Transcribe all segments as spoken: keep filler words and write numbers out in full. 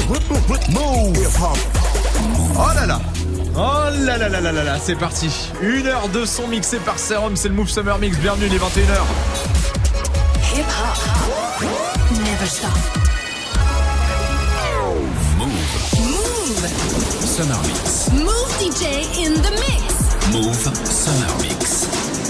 Oh là là. Oh là là là là là là, c'est parti. Une heure de son mixé par Serum, c'est le Move Summer Mix. Bienvenue, il est vingt et une heures. Hip hop, never stop. Move. Move. Summer Mix. Move D J in the mix. Move Summer Mix.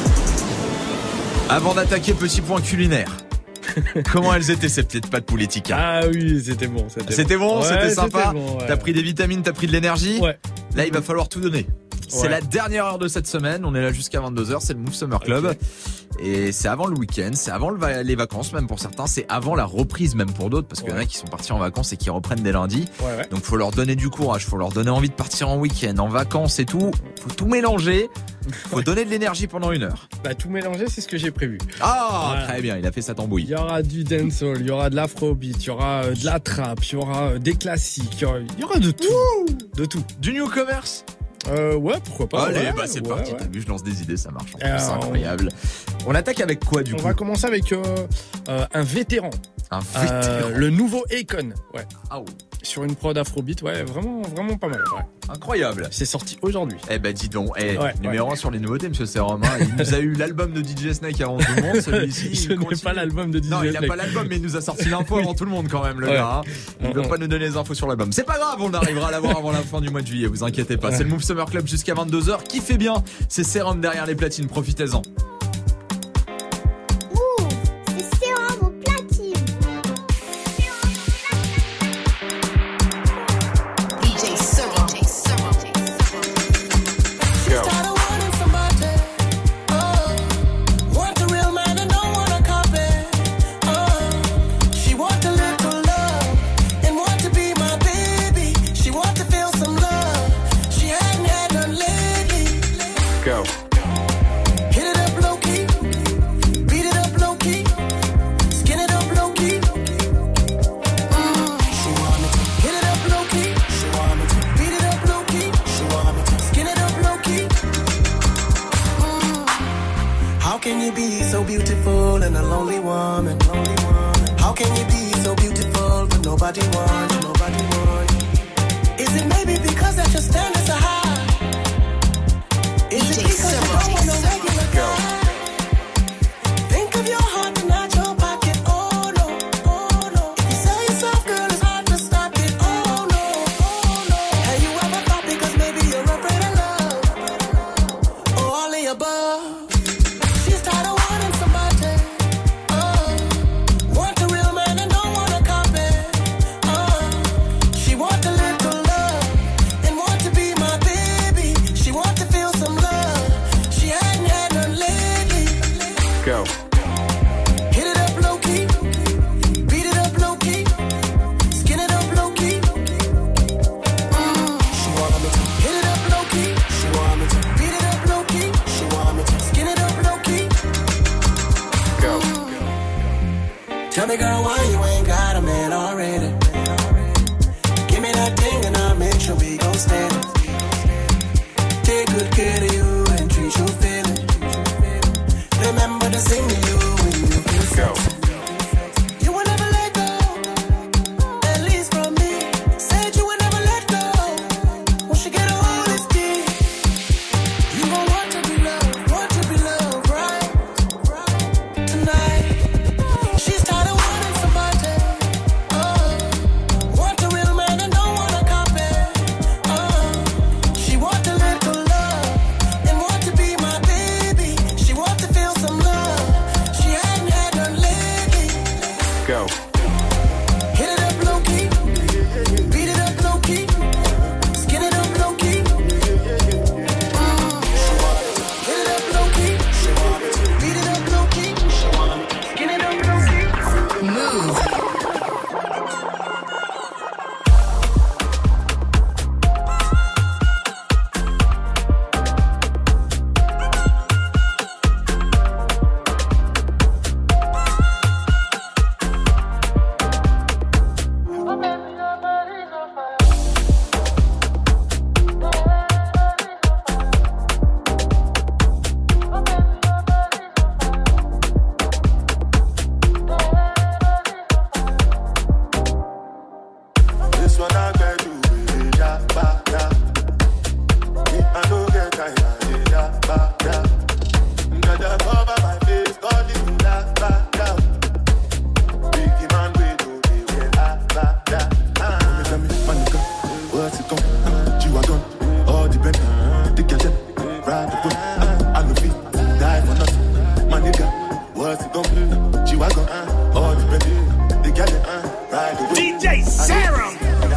Avant d'attaquer, petit point culinaire. Comment elles étaient ces petites pâtes Pouletica? Ah oui, c'était bon. C'était, C'était bon, bon. c'était Ouais, sympa. c'était bon, ouais. T'as pris des vitamines, t'as pris de l'énergie. Ouais. Là, il va falloir tout donner. C'est Ouais. la dernière heure de cette semaine. On est là jusqu'à vingt-deux heures. C'est le Move Summer Club. Okay. Et c'est avant le week-end. C'est avant le va- les vacances, même pour certains. C'est avant la reprise, même pour d'autres. Parce qu'il y en a Ouais. qui sont partis en vacances et qui reprennent dès lundi. Ouais, ouais. Donc, faut leur donner du courage. Faut leur donner envie de partir en week-end, en vacances et tout. Faut tout mélanger. Faut Ouais. donner de l'énergie pendant une heure. Bah, tout mélanger, c'est ce que j'ai prévu. Ah, Voilà. très bien. Il a fait sa Il tambouille. y aura du dancehall, il y aura de l'afrobeat, il y aura euh, de la trap, il y aura euh, des classiques, il y aura, il y aura de tout. De tout. Du new commerce. Euh, ouais, pourquoi pas. Allez, ouais, bah c'est ouais, parti. ouais. T'as vu, je lance des idées, ça marche. En plus, Alors, c'est incroyable. On attaque avec quoi du On coup? va commencer avec euh, euh, un vétéran. Un Euh, vétéran. le nouveau Akon. Ouais. Ah, oh, Sur une prod afrobeat, ouais, vraiment, vraiment pas mal. Ouais. incroyable. C'est sorti aujourd'hui. Eh ben dis donc, eh, Ouais, numéro un ouais. sur les nouveautés, monsieur Serum. Hein. Il nous a eu l'album de D J Snake avant tout le monde, celui-ci. Je il n'ai continue. pas l'album de D J Non, il n'a Snake. pas l'album, mais il nous a sorti l'info avant tout le monde quand même, le Ouais. gars. Hein. Il ne veut Ouais. pas nous donner les infos sur l'album. C'est pas grave, on arrivera à l'avoir avant la fin du mois de juillet, vous inquiétez pas. Ouais. C'est le Move Summer Club jusqu'à vingt-deux heures. Qui fait bien? C'est Serum derrière les platines, profitez-en. Move, c'est Serum au platine. D J Serum. Started wanting somebody, oh, want a real man and don't want a copy, oh. She want a little love and want to be my baby. She want to feel some love. She hadn't had none lately. Go. Hit it up low key, beat it up low key, skin it up low key. Mm. She want me to hit it up low key. She want me to beat it up low key. She want me to skin it up low key. Mm. How can you be so beautiful and a lonely woman? Lonely woman. How can you be so beautiful but nobody wants you? Nobody wants you. Is it maybe because that your standards are high? Is it D J because you don't want no regular guy? Think of your heart and not your pocket. Oh no, oh no. If you sell yourself, girl, it's hard to stop it. Oh no, oh no. Have you ever thought because maybe you're afraid of love? Or all the above? She's tired of wanting somebody. Oh, want a real man and don't want a copy. Oh, one I get you, ja, ba, ja. Me, I no get time, ja, ba, ja. Gotta cover my face, call it la, ba, ja. Biggie man, we do the way, la, ba, ja. Tell me, my nigga, what's it come? G-Wagon, all the Bentley, the gadget, ride the boat. I no fit, die for nothing. My nigga, what's it come? G-Wagon, all the Bentley, the gadget, ride the boat. D J Serum.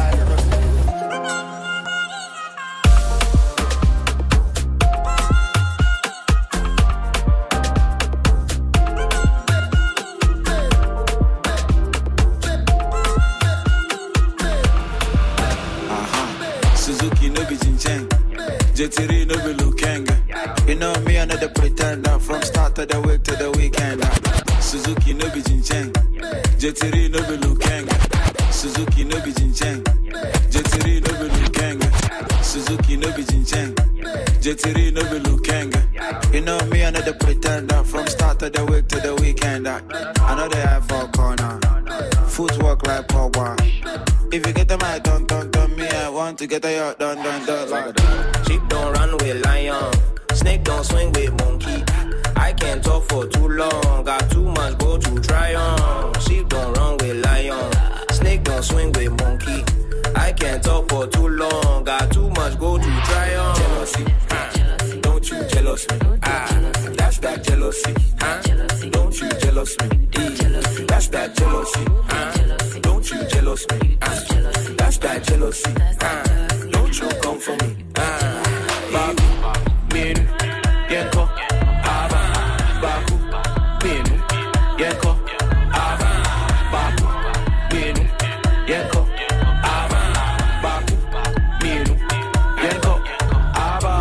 Suzuki no be Jincheng, J three no be Lukenga. You know me, another pretender from start of the week to the weekend. Suzuki no be Jincheng, J three no be Lukenga. Suzuki no be Jincheng, J three no be Lukenga. Suzuki no be Jincheng, J three no be Lukenga. You know me, another pretender from start of the week to the weekend. I know they have for corner, footwork like power. If you get the mic, don't, don't, don't me, I want to get a yacht, don't, don't, don't, like that. Sheep don't run with lion, snake don't swing with monkey. I can't talk for too long, got too much go to try on. Sheep don't run with lion, snake don't swing with monkey. I can't talk for too long, got too much go to try on. Jealousy, huh? Don't you jealous me? Ah, that's that jealousy, huh? Don't you jealous me? E, that's that jealousy, huh? Don't you jealous me? Ah, that's that jealousy. Ah, don't you come for me? Ah, Baku, Minu, Yenko, Ava, Baku, Minu, Yenko, Ava, Baku, Minu, Yenko, Ava, Baku, Minu, Yenko, Ava.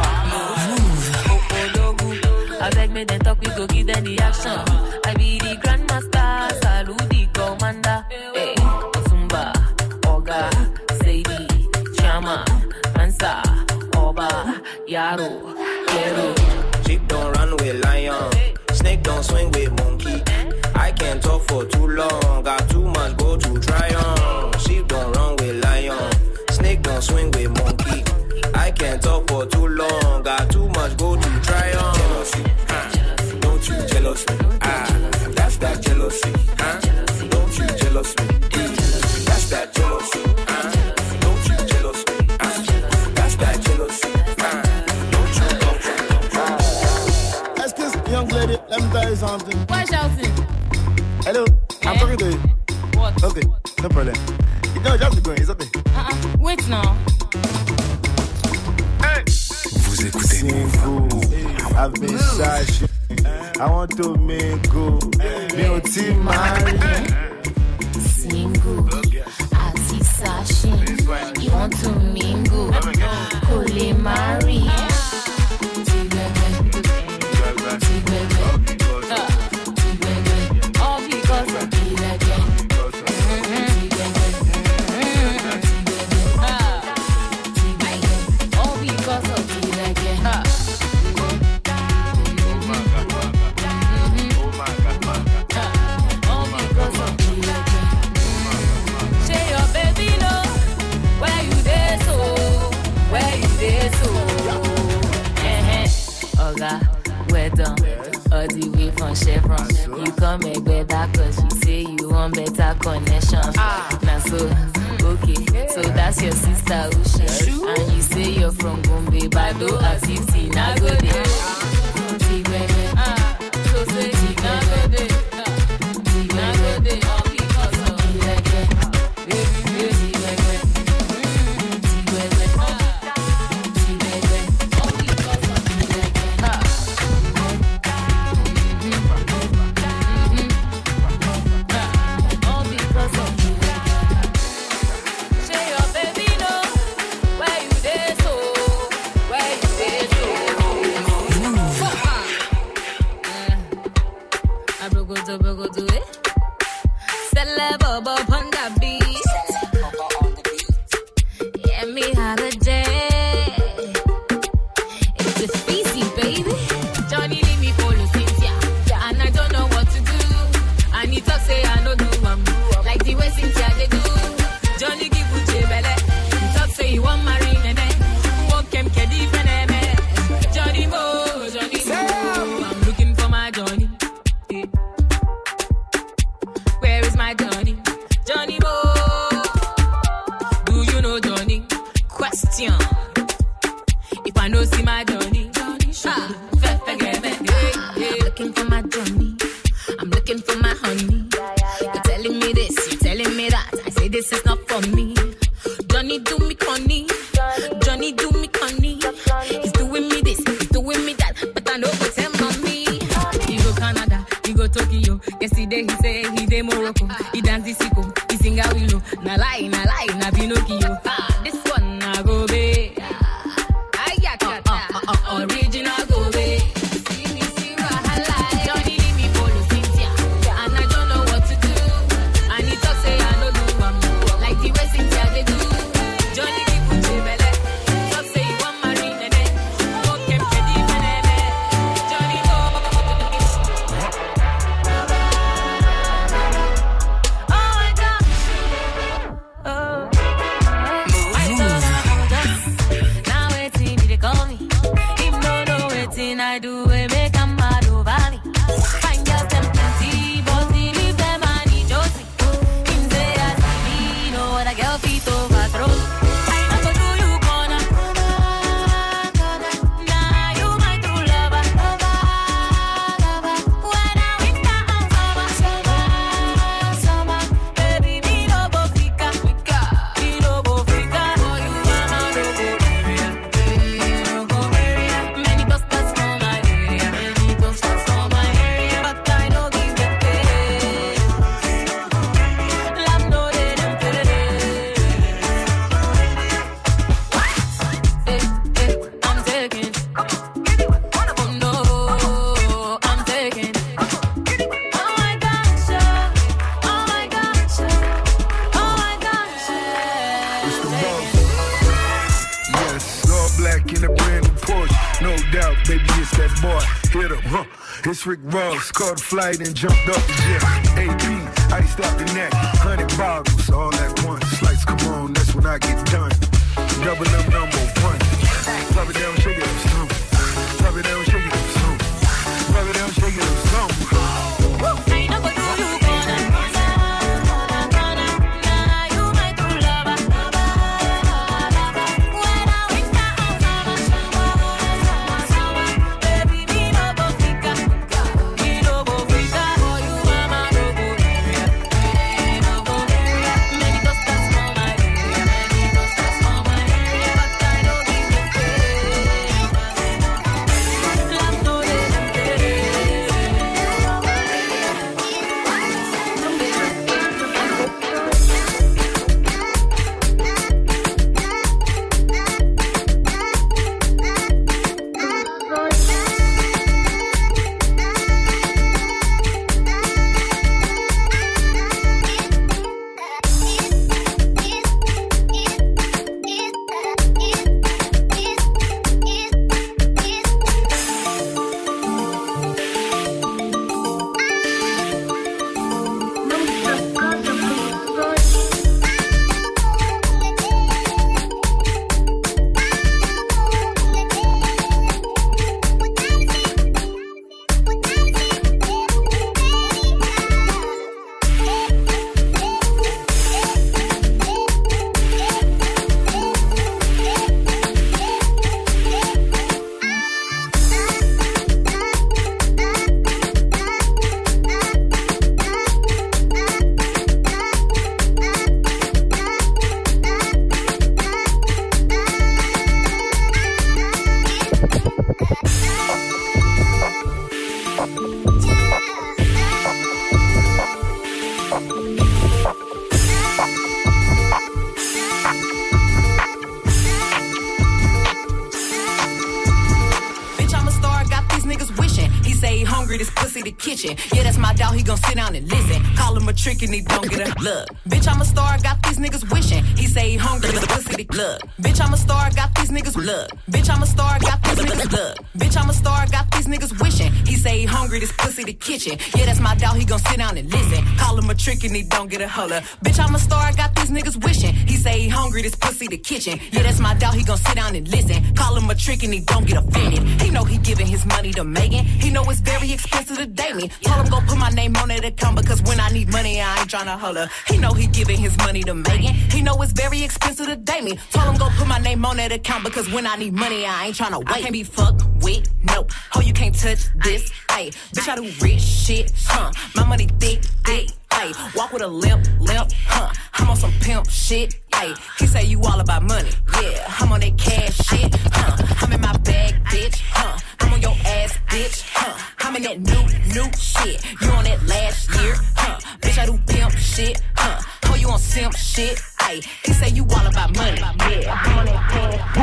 I beg me then talk, we go give them the action. I be the grandmaster, salute the commander. Hey. Sadie, Chama, Mansa, Oba, Yaro, Kero. Sheep don't run with lion, snake don't swing with monkey. I can't talk for too long, got too much go to try on. Sheep don't run with lion, snake don't swing with monkey. I can't talk for too long, got too much go to try on. Jealousy, huh? Don't you jealous me? Ah, that's that jealousy, huh? Don't you jealous me? That's that jealousy. Young lady, let me tell you something. Why shouting? Hello, I'm talking to you. What? Okay, no problem. You know, just be going, it's okay. Uh-uh. Wait now. Hey! Vous écoutez Move. I've been shy. I want to mingle. Me o ti marry. Single. Ati sashi. You want to mingle. Kole marry. We're done, all the way from Chevron. You come make better cause you say you want better connection. Ah. Now so, okay, so that's your sister Usha. And you say you're from Gombe, Bado, Asisi, Nagode. Tigwebe, ah, so say Nagode. Nagode, all because of Tigwebe. Tigwebe, Tigwebe, Tigwebe, all because of Tigwebe. All because of Say your baby know where you dey so, where you dey so. this is not for me. Johnny do me conny, Johnny do me conny. He's doing me this, he's doing me that, but I know what's him on me. He go Canada, he go Tokyo. Yesterday he say he dey Morocco. He dance the sicko, he sing a willow. Na lie, na lie, na Pinocchio. Ah, this one na go be. Ah, yeah, uh, uh, uh, uh, original go be. See me, see Wahala. Johnny leave me follow Cynthia, and I don't know what to do. And he talk say I no do am, like the way Cynthia they do. Johnny keep put your belly, talk say he want marry nene. Go keep ready for nene. Johnny go. Oh my God. Oh. I told her I'm just now waiting he dey call me. Him no know wetin I do we make am mad over me. Fine girls them plenty, but he leave them and he chose me. Him say as me know what a girl fit overthrow me. I no go do you corner. Nah, you my true lover. When I winter and summer, summer, baby me no go fika, me no go fika. For you I'm a no go area, no go area. Many busters for my area, many busters for my area, but I no give them pay. Love no they them pay. Eh, eh, I'm taking. Oh no, I'm taking. Oh my gosh, yeah. Oh my gosh, yeah. Oh my gosh, yeah. It's the boss. Yes, all black in a brand new Porsche. No doubt, baby, it's that boy. Hit him, huh? It's Rick Ross. Caught a flight and jumped off the jet. A P, iced out the neck. Hundred bottles, all at once. Lights come on, that's when I get done. Double up number one. Drop it down, shake it up, some. Drop it down, shake it up, some. Drop it down, shake it up, some. I no go do you corner. Nah, you my true lover. When I winter and summer, summer, baby me no go fika, me no go fika. For you I'm a no go area, no go area. Many busters for my area, many busters for my area, but I no give them pay. Love no they them pay. Bitch, I'm a star, got these niggas wishing. He say he hungry, this pussy the kitchen. Yeah, that's my dog, he gon' sit down and listen. Call him a trick and he don't get a look. Bitch, I'm a star, got these niggas wishing. He say he hungry, this pussy the look. Bitch, I'm a star, got these niggas look. Bitch, I'm a star, got these niggas look. Bitch, I'm a star, got these niggas wishing. He say he hungry, this pussy the kitchen. Yeah, that's my dog, he gon' sit down and listen. Call him a trick and he don't get a holler. Bitch, I'm a star, got these niggas wishing. He say he hungry, this pussy the kitchen. Yeah, that's my dog, he gon' sit down and listen. Call him a trick and he don't get offended. He know he giving his money to Megan. He know it's very expensive to date me. Told him go put my name on that account because when I need money, I ain't tryna holler. He know he giving his money to Megan. He know it's very expensive to date me. Told him go put my name on that account because when I need money, I ain't tryna wait. I can't be fucked with, no. Oh, you can't touch this, ayy. Bitch, I do rich shit, huh? My money thick, thick. Ayy, walk with a limp, limp, huh? I'm on some pimp shit. Ayy, he say you all about money. Yeah, I'm on that cash shit, huh? I'm in my bag, bitch, huh? I'm on your ass, bitch, huh? I'm in that new, new shit. You on that last year, huh? Bitch, I do pimp shit, huh? Oh, you on simp shit, ayy. He say you all about money. Yeah, I'm on that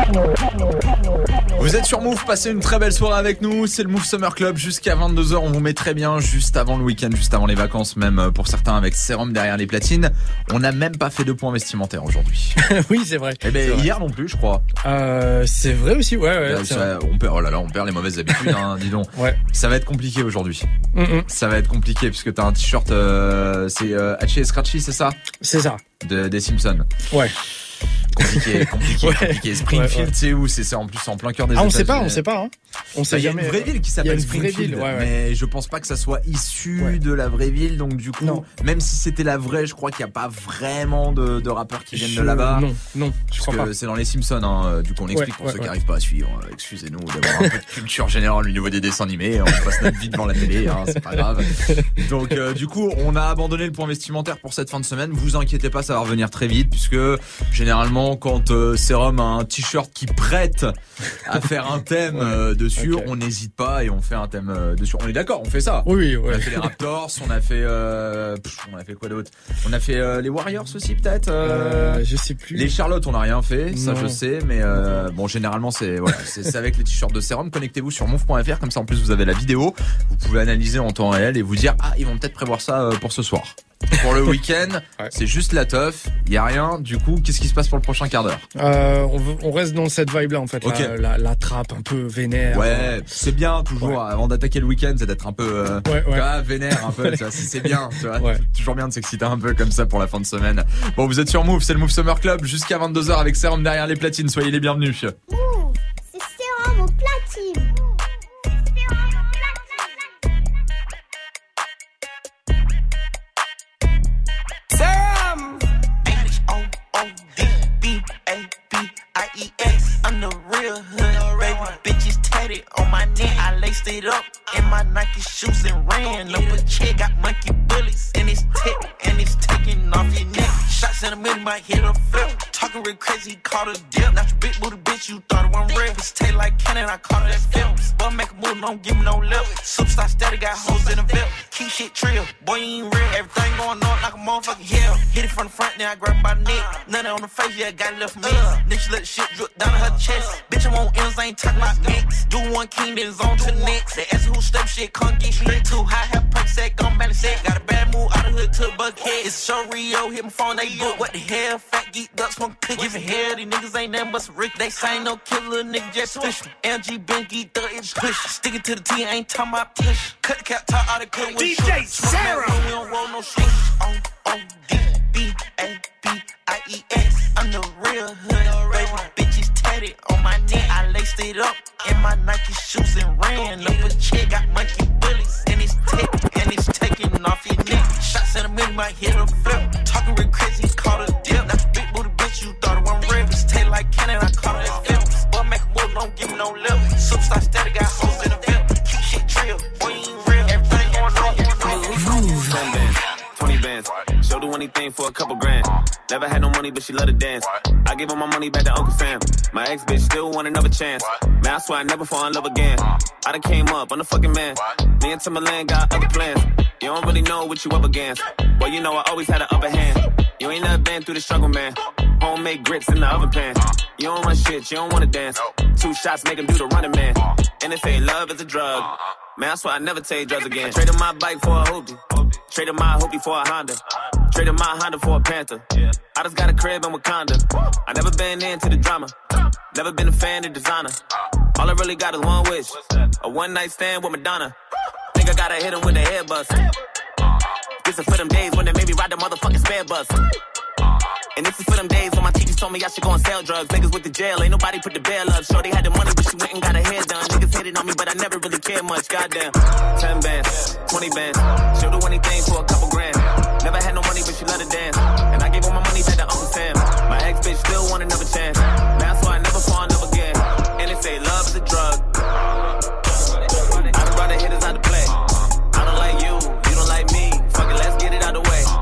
cash. Vous êtes sur Move, passez une très belle soirée avec nous. C'est le Move Summer Club jusqu'à vingt-deux heures. On vous met très bien juste avant le week-end, juste avant les vacances, même pour certains avec Serum derrière les platines. On n'a même pas fait de points vestimentaires aujourd'hui. Oui, c'est vrai. Eh ben, c'est vrai. hier non plus, je crois. Euh, c'est vrai aussi, ouais, ouais. Là, ça, on perd, oh là là, on perd les mauvaises habitudes, hein, dis donc. Ouais. Ça va être compliqué aujourd'hui. Mm-mm. Ça va être compliqué puisque t'as un t-shirt, euh, c'est euh, Hachi et Scratchy, c'est ça? C'est ça. De, des Simpsons. Ouais. Compliqué, compliqué, Ouais. compliqué. Springfield, Ouais, ouais. c'est où? C'est c'est en plus en plein cœur des Ah, on États-Unis. sait pas, on sait pas, hein. On sait Bah, il y a jamais. une vraie ville qui Il y a s'appelle une vraie Springfield, ville, ouais, ouais. mais je pense pas que ça soit issu Ouais. de la vraie ville, donc du coup, Non. même si c'était la vraie, je crois qu'il n'y a pas vraiment de, de rappeurs qui viennent Je- de là-bas. Non, non, je Parce crois que pas. c'est dans les Simpsons, hein. Du coup on explique Ouais, pour ouais, ceux qui ouais. n'arrivent pas à suivre. Excusez-nous d'avoir un peu de culture générale au niveau des dessins animés. On passe notre vie devant la télé, hein, c'est pas grave. Donc euh, du coup on a abandonné le point vestimentaire pour cette fin de semaine. Vous inquiétez pas, ça va revenir très vite puisque généralement quand euh, Serum a un t-shirt qui prête à faire un thème Ouais. euh, dessus, Ok. on n'hésite pas et on fait un thème euh, dessus. On est d'accord, on fait ça. Oui, On ouais. a fait les Raptors, on a fait, euh, pff, on a fait quoi d'autre? On a fait euh, les Warriors aussi peut-être. euh, Euh, je sais plus. Les Charlotte, on n'a rien fait, ça Non. je sais, mais euh, bon, généralement c'est voilà, c'est c'est avec les t-shirts de Serum. Connectez-vous sur move point f r, comme ça en plus vous avez la vidéo, vous pouvez analyser en temps réel et vous dire ah ils vont peut-être prévoir ça euh, pour ce soir. Pour le week-end, Ouais. c'est juste la teuf, il y a rien. Du coup, qu'est-ce qui se passe pour le prochain quart d'heure? Euh, on, veut- on reste dans cette vibe-là, en fait. Ok. La, la, la trappe un peu vénère. Ouais, c'est bien toujours Ouais. avant d'attaquer le week-end, c'est d'être un peu euh, Ouais, tu ouais. vois, vénère un peu, tu vois, c'est c'est bien, tu vois. Ouais. Toujours bien de s'exciter un peu comme ça pour la fin de semaine. Bon, vous êtes sur Move, c'est le Move Summer Club jusqu'à vingt-deux heures avec Serum derrière les platines. Soyez les bienvenus. Move, c'est Serum au platine. Serum. H O O D B A B I E S. I'm the real hood, baby. Bitches tatted on my neck. I laced it up in my Nike shoes and ran up a check. Got monkey bullets in his tip and it's taking off your neck. Shots in the middle, might hit a flip. Talking real crazy, caught a dip. Not your big booty bitch, you thought it wasn't real. It's taste like cannon, I caught it at films. But make a move, don't give me no lip. Superstar steady, got hoes in the VIP. Keep shit trill, boy, you ain't real. Everything going on like a motherfucking hell. Hit it from the front, then I grab it by the neck. Nothing on the face, yeah, got it left for me. Then she let the shit drip down her chest. Bitch, I want M's, I ain't talking about mix. Do one king, then it's on to the next. They ask who step shit, can't get straight to high. Have perk set, gon' balance set. Got a bad move out of hood to the buckhead. It's show Rio, hit my phone, they book. What the hell, fat geek ducks, smoke cookie. Giving hell, these niggas ain't nothing but some rich. They say no killer, nigga just push me. L G been geeked up, it push. Sticking to the T, I ain't talking about push. Cut the cap, top out the cut with D J Sarah. We don't roll no shit. O O D B A B I E S. I'm the real hood, baby. Bitches tatted on my neck. I laced it up in my Nike shoes and ran up a check. Got monkey bullets in his tip and it's taking off your neck. Shots in the middle, might hit a flip. Talking real crazy, caught a dip. That's a big booty bitch, you thought it wasn't real. It's taste like cannon, I caught it at films. Boy, make a move, don't give me no lip. Superstar steady, got hoes in the VIP. Keep shit trill, boy, you ain't real. Everything going on, Move. ten bands, twenty bands. She'll do anything for a couple grand. Never had no money, but she love to dance. I give her my money back to Uncle Sam. My ex bitch still want another chance. Man, I swear I never fall in love again. I done came up, I'm the fucking man. Me and Timberland got other plans. You don't really know what you up against. Well, you know I always had an upper hand. You ain't never been through the struggle, man. Homemade grits in the oven pan. You don't run shit, you don't wanna dance. Two shots make him do the running man. And they say love is a drug. Man, I swear I never take drugs again. Traded my bike for a hoopty. Traded my hoopty for a Honda. Traded my Honda for a Panther. I just got a crib in Wakanda. I never been into the drama. Never been a fan of designer. All I really got is one wish. A one night stand with Madonna. Think I gotta hit him with a head bust. This is for them days when they made me ride the motherfucking spare bus. And this is for them days when my teachers told me I should go and sell drugs. Niggas went to jail, ain't nobody put the bail up. Shorty had the money, but she went and got her hair done. Niggas hated on me, but I never really cared much. Goddamn. Ten bands, twenty bands. She'll do anything for a couple grand. Never had no money, but she love to dance. And I gave her my money back to Uncle Sam. My ex bitch still want another chance. That's why I never fall in love again. And they say love is a drug. I done brought the hitters out to play. I don't like you, you don't like me. Fuck it, let's get it out the way.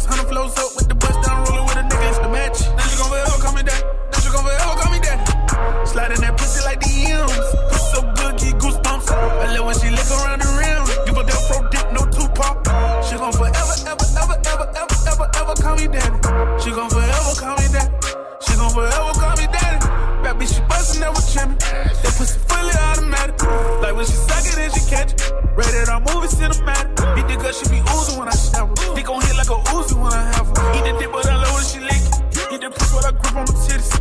penthouse, hundred flows up with the bust down, rolling with a nigga, it's the match. Now she gon' forever call me daddy. Now she gon' forever call me daddy. Sliding that pussy like the M's. Pussy so good, get goosebumps. I love when she lick around the rim. Give her that pro dick, no Tupac. She gon' forever, ever, ever, ever, ever, ever, ever call me daddy. She gon' forever call me daddy. She gon' forever call me daddy. That bitch, she bustin' never trimming. That pussy fully automatic. Like when she suck it and she catch it. Rated R movie cinematic. Beat the gut, she be oozing when I snap her. Dick gon' hit like a Uzi when I have her. Eat the dick, but I love when she lick it. Eat the pussy when I grip on my titties.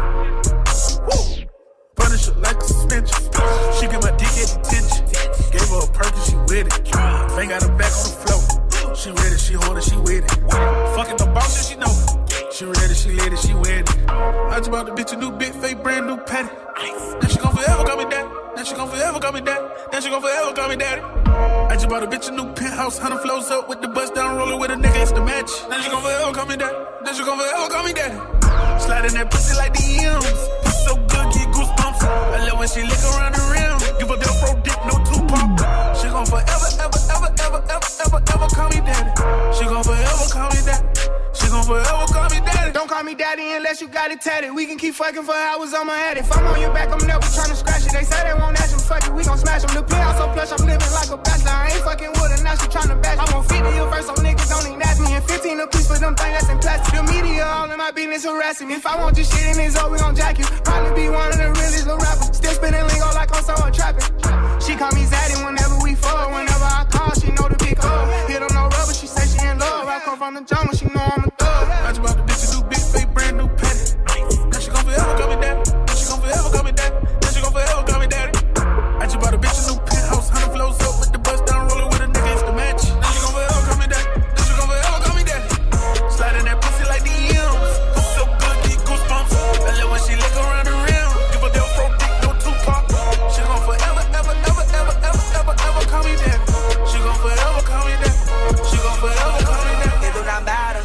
Woo! Punish her like a suspension. She get my dick at detention. Gave her a perk and she with it. Bang got her back on the floor. She ready, she hold it, she with it. Fucking the boss and she know it. She ready, she lit it, she with it. I just bought the bitch a new big fake brand new patty. Now she gon' forever call me daddy. Now she gon' forever call me daddy. Now she gon' forever call me daddy. I just bought a bitch a new penthouse, hundred flows up with the bust down, rolling with a nigga, it's the match. Now she gon' forever call me daddy. Now she gon' forever call me daddy. Sliding that pussy like the M's. Pussy so good, get goosebumps. I love when she lick around the rim. Give her that pro dick, no Tupac. She gon' forever, ever, ever, ever, ever, ever, ever call me daddy. She gon' forever call me daddy. She gon' forever call me daddy. Don't call me daddy unless you got it tatted. We can keep fucking for hours on my head. If I'm on your back, I'm never tryna scratch it. They say they won't ask them, fuck it, we gon' smash them. The penthouse so plush, I'm living like a bachelor. I ain't fucking with her, now she tryna bash. I want fifty a verse, so niggas don't even ask me. And fifteen a piece for them things that's in plastic. The media all in my business harassing me. If I want your shit in his own, we gon' jack you. Probably be one of the realest little rappers. Still spinning lingo like I'm someone trapping. She call me Zaddy whenever we fall. Whenever I call, she know the big hug. Hit on no rubber, she say she in love. I come from the jungle, she know I'm a thug. I just bought the bitch a new big fake brand new patty. Now she gon' forever call me daddy. Now she gon' forever call me daddy. Now she gon' forever call me daddy. I just bought a bitch a new penthouse, hundred flows up with the bust down, rolling with a nigga, it's the match. Now she gon' forever call me daddy. Now she gon' forever call me daddy. Sliding that pussy like the M's. Pussy so good, get goosebumps. I love when she lick around the rim. Give her that pro dick, no Tupac. She gon' forever, ever, ever, ever, ever, ever, ever call me daddy. She gon' forever call me daddy. She gon' forever call me daddy. It do not matter.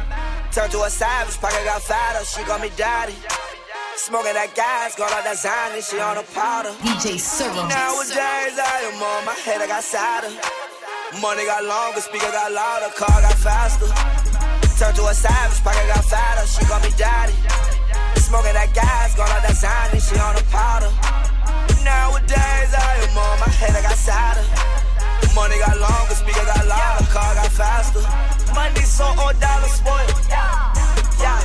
Turn to a savage, pocket got fatter. She call me daddy. Smoking that gas, got all that Zany, she on a powder. D J Cyril. Nowadays I am on my head, I got sadder. Money got longer, speaker got louder, car got faster. Turn to a savage, pocket got fatter. She call me daddy. Smoking that gas, got all that Zany, she on a powder. Nowadays I am on my head, I got sadder. Money got longer, speaker got louder, car got faster. Money so old, dollar spoiled. Yeah.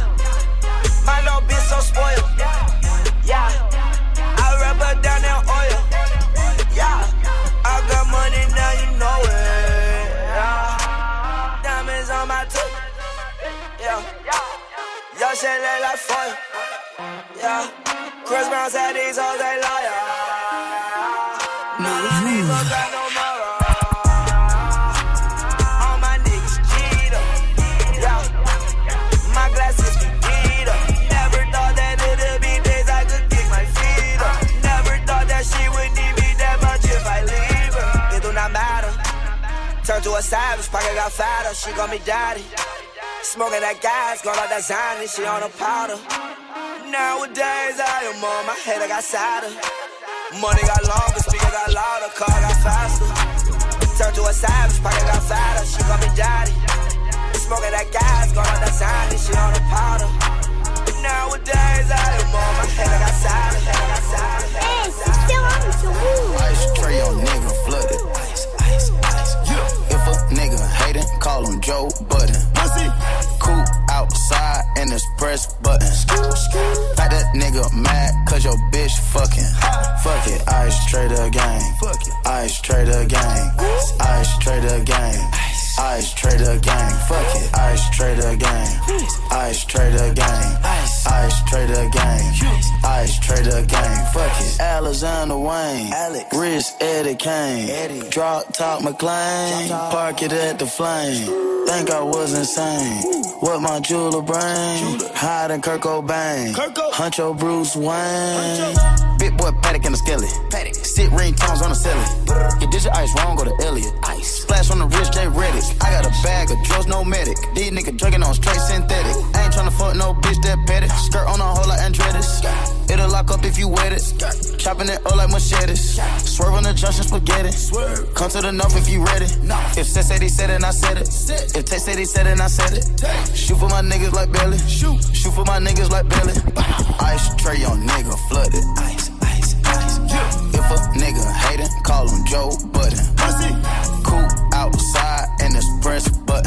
My little bitch so spoiled. Yeah. I rub her down in oil. Yeah. I got money now, you know it. Yeah. Diamonds on my tooth. Yeah. Y'all shit look like fire. Yeah. Chris Brown said these hoes they liar. None of these hoes got no more. All my niggas cheat up. Yeah. My glasses be beat up. Never thought that it'd be days I could kick my feet up. Never thought that she would need me that much if I leave her. It do not matter. Turn to a savage, pocket got fatter. She call me daddy. Smoking that gas, got all that Zany, she on a powder. Nowadays I am on my head, I got sadder. Money got longer, speaker got louder, car got faster. Turn to a savage, pocket got fatter. She call me daddy. Smoking that gas, got all that Zany, she on a powder. Nowadays I am on my head, I got sadder. Hey, c'est Sarah, sur vous. Ice tray on nigga flooded. Ice, ice, ice. Yeah. If a nigga hatin', call him Joe Budden. Cool outside and it's press button. Got that nigga mad cause your bitch fucking. Fuck it, ice trader gang. Ice trader gang. Ice trader gang. Ice trader gang. Fuck it, ice trader gang. Ice trader gang. Ice trader gang. Ice trader gang. Fuck it, Alexander Wayne. Rich Eddie Kane. Drop top McLean. Park it at the flame. Think I was insane. What my jeweler brain? Hiding Kurt Cobain. Huncho Bruce Wayne. Big boy Paddock in the skillet. Sit ringtones on the ceiling. You did your ice wrong, go to Elliot. Ice. flash on the wrist, they ready. I got a bag of drugs, no medic. These niggas drinking on straight synthetic. I ain't tryna fuck no bitch that petty. Skirt on a hole like Andretti's. It'll lock up if you wet it. Chopping it up like machetes. Swerve on the junction spaghetti. Come to the north if you ready. If Seth said he said it, I said it. If Tay said he said it, I said it. Shoot for my niggas like Belly. Shoot. Shoot for my niggas like Belly. Ice tray on nigga flooded. Ice, ice, ice. If a nigga hatin', call him Joe Budden. Cool outside and it's press button.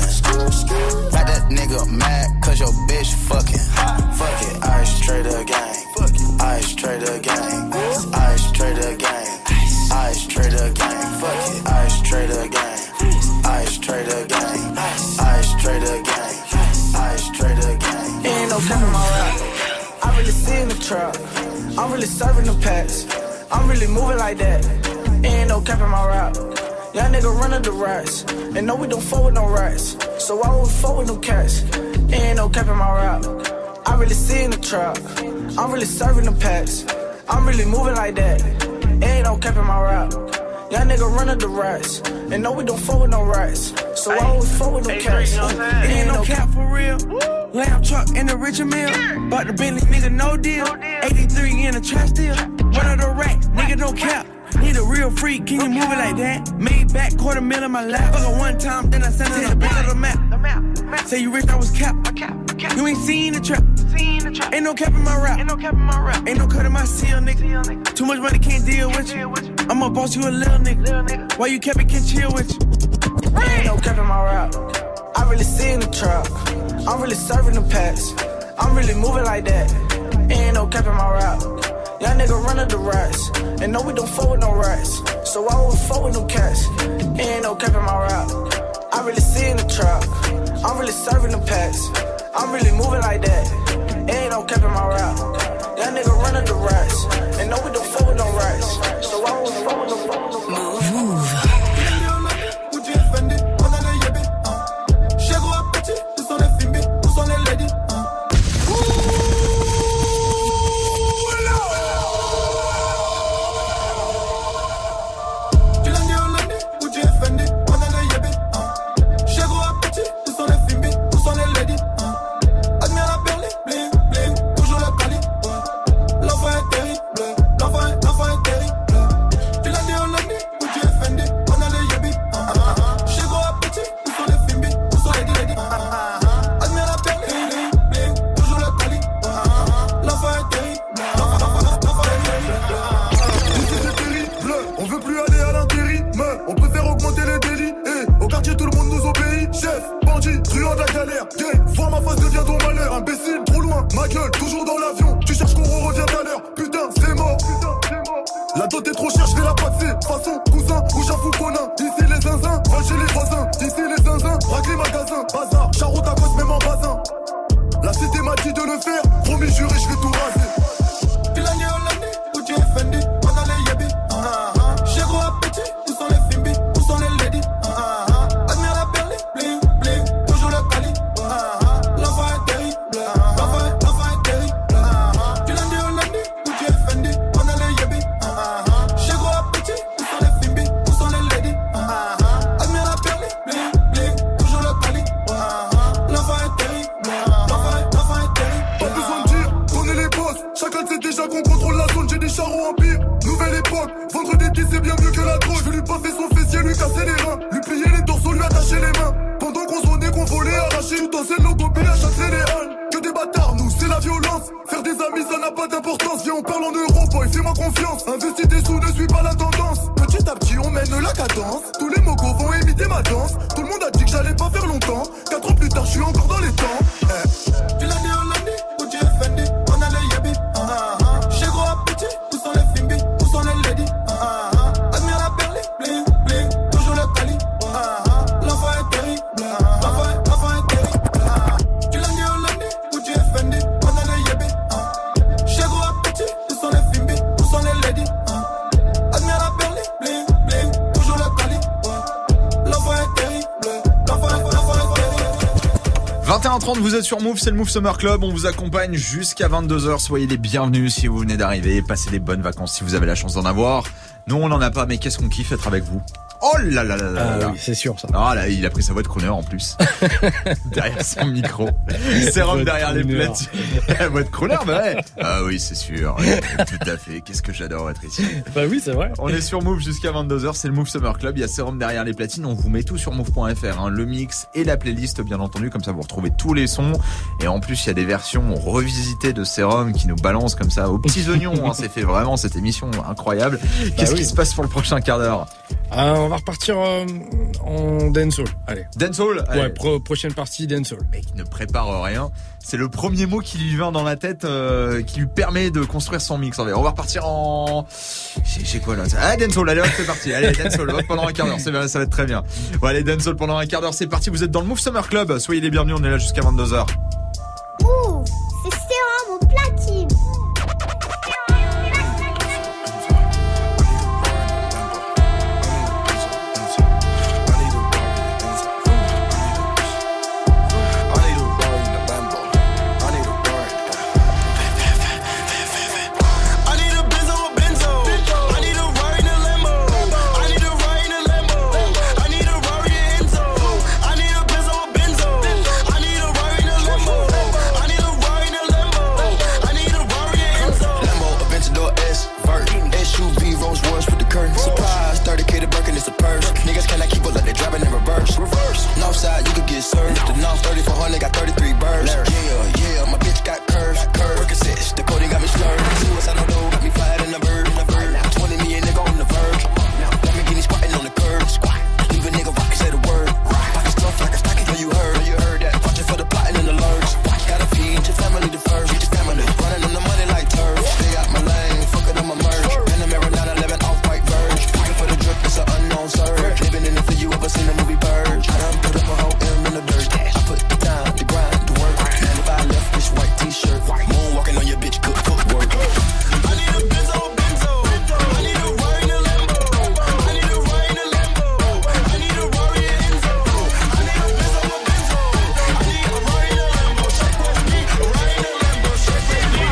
Got that nigga mad cause your bitch fucking. Fuck it, ice trader gang. Ice trader gang. Ice trader gang. Ice trader gang. Fuck it, ice trader gang. Ice trader gang. Ice trader gang. Ice trader gang. Ain't no cap in my rap. I really see in the trap. I'm really serving the packs. I'm really moving like that. Ain't no cap in my rap. Young nigga running the rats. And no, we don't fuck with no rats. So why would we fuck with no cats? Ain't no cap in my rap. I really see in the trap. I'm really serving the packs. I'm really moving like that. Ain't no cap in my rap. Young nigga running the rats. And no, we don't fuck with no rats. So why would we fuck with no cats? Ain't no cap for real. Lamb truck in the Richard Mill. Bought the Bentley, nigga, no deal. eighty-three in the trash deal. One of the racks, nigga, no cap. Need a real freak, can you move it like that? Made back quarter mil in my lap. Fuck her one time, then I sent her the back of the map. Say you rich, I was cap. You ain't seen the trap. Ain't no cap in my rap. Ain't no cut in my seal, nigga. Too much money, can't deal with you. I'ma boss you a little nigga. Why you kept it, can't chill with you? Ain't no cap in my rap. I really see in the trap. I'm really serving the packs. I'm really moving like that. Ain't no cap in my rap. Young nigga running the rats. And no, we don't fuck with no rats. So why would we fuck with no cats? Ain't no cap in my rap. I really see in the trap. I'm really serving the packs. I'm really moving like that. Ain't no cap in my rap. Young nigga running the rats. And no, we don't fuck with no rats. So why would we fuck with no fuck with no Move. Move. vingt et un heures trente, vous êtes sur Move, c'est le Move Summer Club. On vous accompagne jusqu'à vingt-deux heures. Soyez les bienvenus si vous venez d'arriver. Passez des bonnes vacances si vous avez la chance d'en avoir. Nous, on n'en a pas, mais qu'est-ce qu'on kiffe être avec vous. Oh là là là là Ah là. oui, c'est sûr ça. Ah là, il a pris sa voix de crooner en plus. Derrière son micro. Sérum derrière les platines. La voix de crooner, bah ouais. Ah oui, c'est sûr. Ouais, tout à fait. Qu'est-ce que j'adore être ici. Bah oui, c'est vrai. On est sur Move jusqu'à vingt-deux heures, c'est le Move Summer Club. Il y a Sérum derrière les platines. On vous met tout sur move point f r, hein. Le mix et la playlist, bien entendu. Comme ça, vous retrouvez tous les sons. Et en plus, il y a des versions revisitées de Sérum qui nous balancent comme ça aux petits oignons. Hein. C'est fait vraiment cette émission incroyable. Qu'est-ce bah oui. qui se passe pour le prochain quart d'heure? euh, On va repartir euh, en dancehall. Allez. Dancehall? Ouais, Allez. pro- prochaine partie dancehall. Mec ne prépare rien. C'est le premier mot qui lui vient dans la tête, euh, qui lui permet de construire son mix. On va repartir en... J'ai quoi là? Ah, dancehall, allez hop, c'est parti. Allez, dancehall, hop, pendant un quart d'heure, c'est, ça va être très bien. Bon, allez, dancehall pendant un quart d'heure, c'est parti. Vous êtes dans le Move Summer Club. Soyez les bienvenus, on est là jusqu'à vingt-deux heures. Ouh, c'est Sérum au platine. Surprise, thirty K to Birkin, it's a purse. Niggas cannot keep up like they driving in reverse. Reverse. Northside, you could get served. The North thirty-four hundred got thirty-three birds. Yeah, yeah, my bitch got curves. Curve. Percocets, the coding got me slurred. Suicide on dough, got me fired in the bird. twenty million nigga on the verge. Lamborghini squatting on the curb. Squat. Leave a nigga rock and say the word. Pocket stuff like a stocking, know you heard. You heard that. Watch it for the plotting and the lurks. Gotta feed your family the first. Feed your family. Running on the money like turf. Stay out my lane, fuck it on my merch. And the mirror nine eleven off white verge. For the drip, it's an unknown surge. Living in the field, you ever seen the movie Purge? I done put up a whole M in the dirt. I put the time, the grind, the work. ninety-five left, this white t-shirt. Moonwalking on your bitch, cook, cook, work. I need a benzo, benzo. I need a ride in a Lambo. I need a ride in a Lambo. I need a Rari and Enzo. I need a benzo, a benzo. I need a ride in a Lambo. Check with me, a ride in a Lambo. Check with me.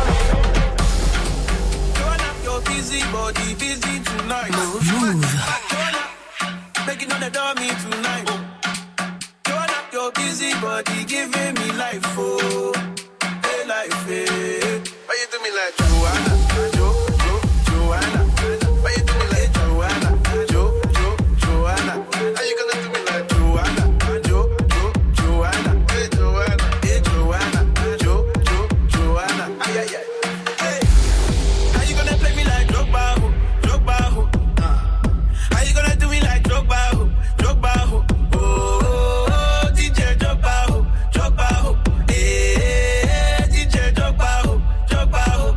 Turn up your busy body, busy tonight. Move. Making on the dummy tonight. Turn up your busy body, giving me life, oh, hey life, hey. Why you do me like Joanna, Jo, Jo, Joanna? Why you do me like Joanna, Jo, Jo, Joanna? How you gonna do me like Joanna, Jo, Jo, Joanna? Hey Joanna, hey Joanna, Jo, Jo, Joanna. Ay ay ay. Hey, how you gonna play me like Drogba, ho, Drogba, ho? How you gonna do me like Drogba, ho, Drogba, ho? Oh, D J Drogba, ho, Drogba, ho. Eh, D J Drogba, ho, Drogba, ho.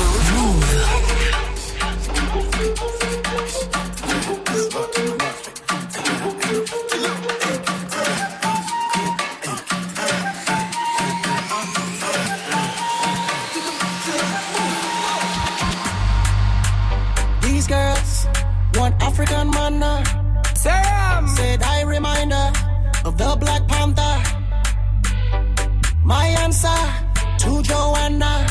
These girls want African manna. Sam said I reminder of the Black Panther. My answer to Joanna.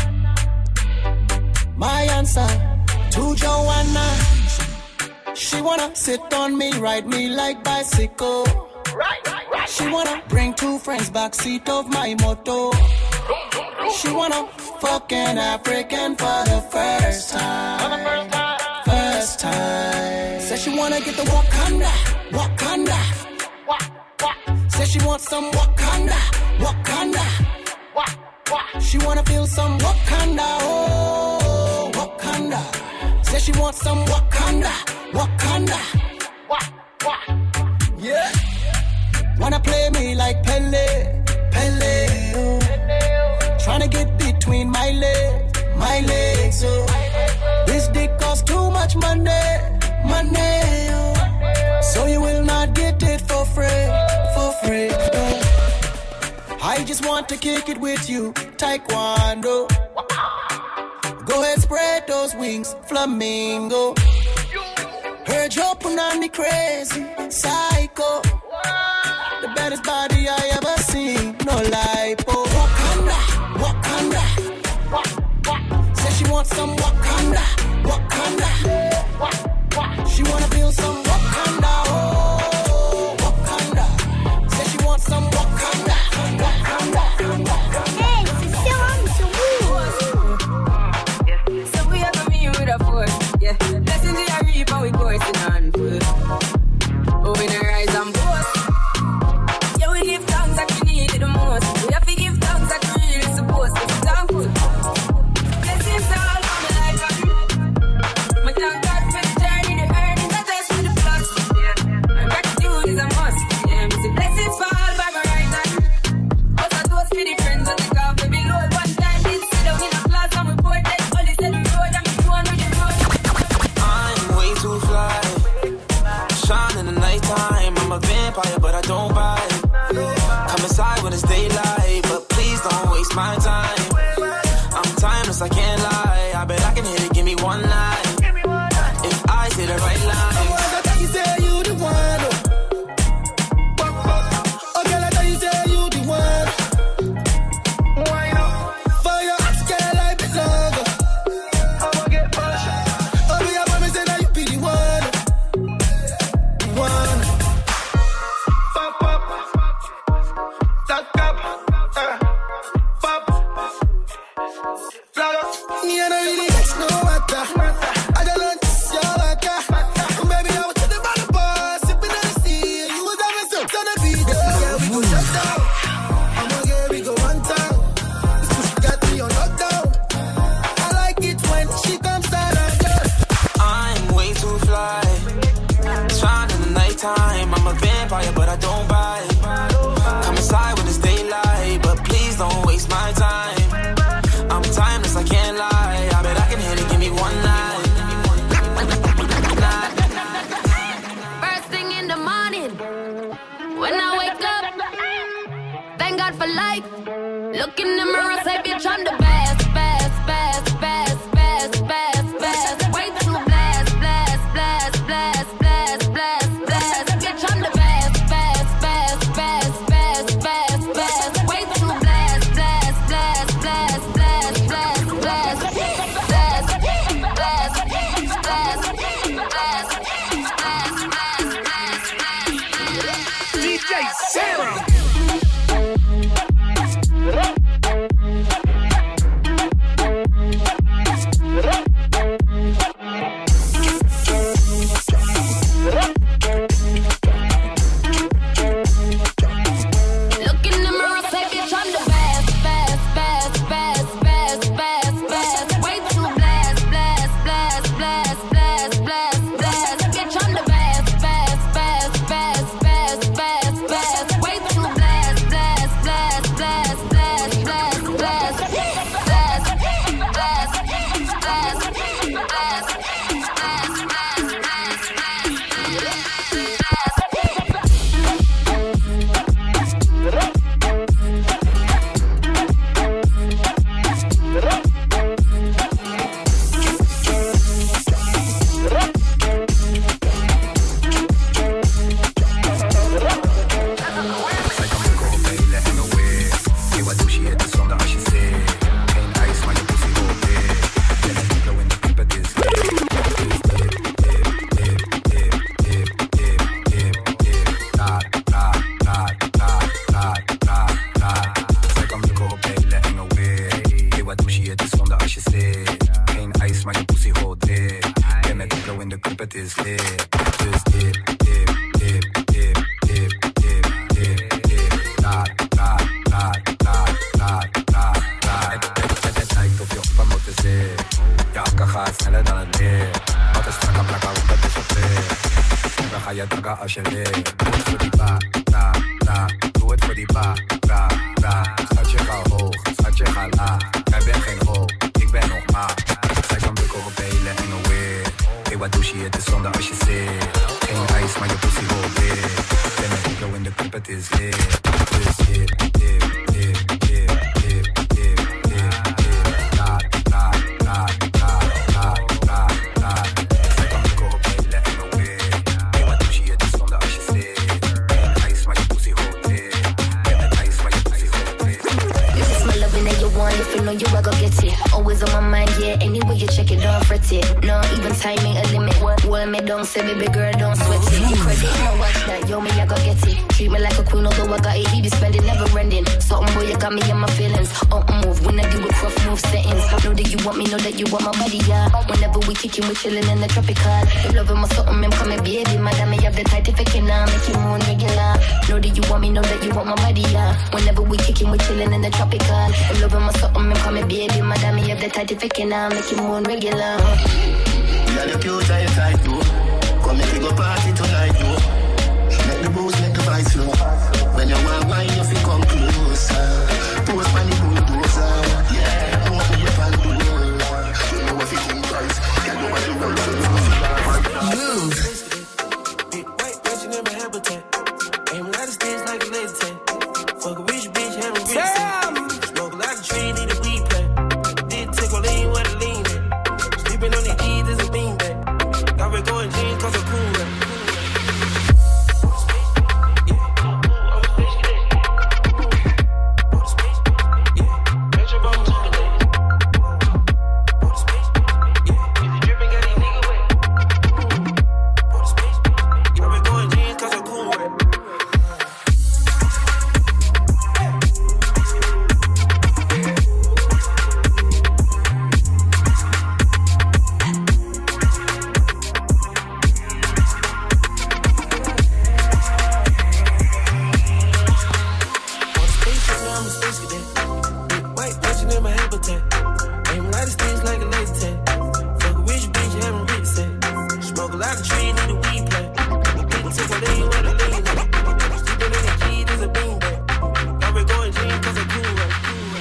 My answer to Joanna. She wanna sit on me, ride me like bicycle. She wanna bring two friends backseat of my moto. She wanna fuck an African for the first time. First time. Says she wanna get the Wakanda, Wakanda. Says she wants some Wakanda, Wakanda. She wanna feel some Wakanda, oh, Wakanda. Says she wants some Wakanda, Wakanda. Yeah. Wanna play me like Pele, Pele. Oh. Tryna get between my legs, my legs. Oh. This dick costs too much money, money. Oh. So you will not get it for free, for free. Oh. I just want to kick it with you, Taekwondo. Go ahead, spread those wings, flamingo. Heard your punani crazy, psycho. The baddest body I ever seen, no lipo. Wakanda, Wakanda. Say she wants some Wakanda, Wakanda. She wanna feel some Wakanda. it's daylight, but please don't waste my time. I'm timeless, I can't lie. I bet I can hit it, give me one line. If I say the right line. I thought you said you the one. Oh, girl, I thought you said you the one. For your ex, girl, I belong. I'ma get pushed. Oh, me, I promise that you be the one. One. Pop, pop. Lock up. Uh. Pop. Flag up. Me, I don't really vex no matter. I don't know this, your waka. Baby, I was to the bottom bar, sipping on the sea. You was having some on the beat. Yeah, we go shut down. I'ma get we go one time. This pussy got me on lockdown. I like it when she comes down and girl. I'm way too fly. Shine in the nighttime. I'm a vampire, but I don't bite. Come inside when it's daylight, but please don't waste my time. I'm timeless, I can't lie. I bet I can hit it, give me one line. First thing in the morning, when I wake up, thank God for life. Look in the mirror, say, bitch, I'm the best, best, best, best, best, best, best. Way too blessed, blessed, blessed, blessed, blessed, blessed, blessed. Bitch, I'm the best, best, best, best, best, best, best. Way too blessed, blessed, blessed, blessed, blessed, blessed, blessed, blessed, blessed, blessed, blessed. D J Sarah. Look in the mirror, say, bitch, I'm the best, best, best, best, best, best, best. Way too blessed, blessed, blessed, blessed, blessed, blessed, blessed. Bitch, I'm the best, best, best, best, best, best, best. Way too blessed, blessed, blessed, blessed, blessed, blessed, blessed, blessed, blessed, blessed, blessed, Say baby girl, don't sweat it. You credit, I'ma watch that. Yo, me, I go get it. Treat me like a queen, although I got it. He be spending, never ending. Something boy, you got me in my feelings. Up move, when I do with rough move settings. Know that you want me, know that you want my body, yeah. Whenever we kicking, we chilling in the tropical. You loving my something, I'm coming, baby. Madam, me have the tight if I can, uh, make you moon regular. Know that you want me, know that you want my body, yeah. Whenever we kicking, we chilling in the tropical. You loving my something, I'm coming, baby. Madam, me have the tight if I can, uh, make you moon regular. You are the cute, I tight, too. Come make we go party tonight, yo. Make the booze, make the vibes flow. When you want wine, you feel come closer. Post money, bulldozer. Yeah, don't be a fan, do. You know what you think, guys. Can't go back to the Move. Big white bitch in my habitat. Aim a lot of stage like a laser tag. Fuck a rich bitch, risk of that. Big white mansion in my habitat. Aim a lot of sticks like a laser tag. Fuck a rich bitch, having rich sex. Smoke a lot of trees, need a weed plant. People take a lean with a lean at. Sleeping in the key, there's a beanbag. Got me going jeans cause I'm cool right.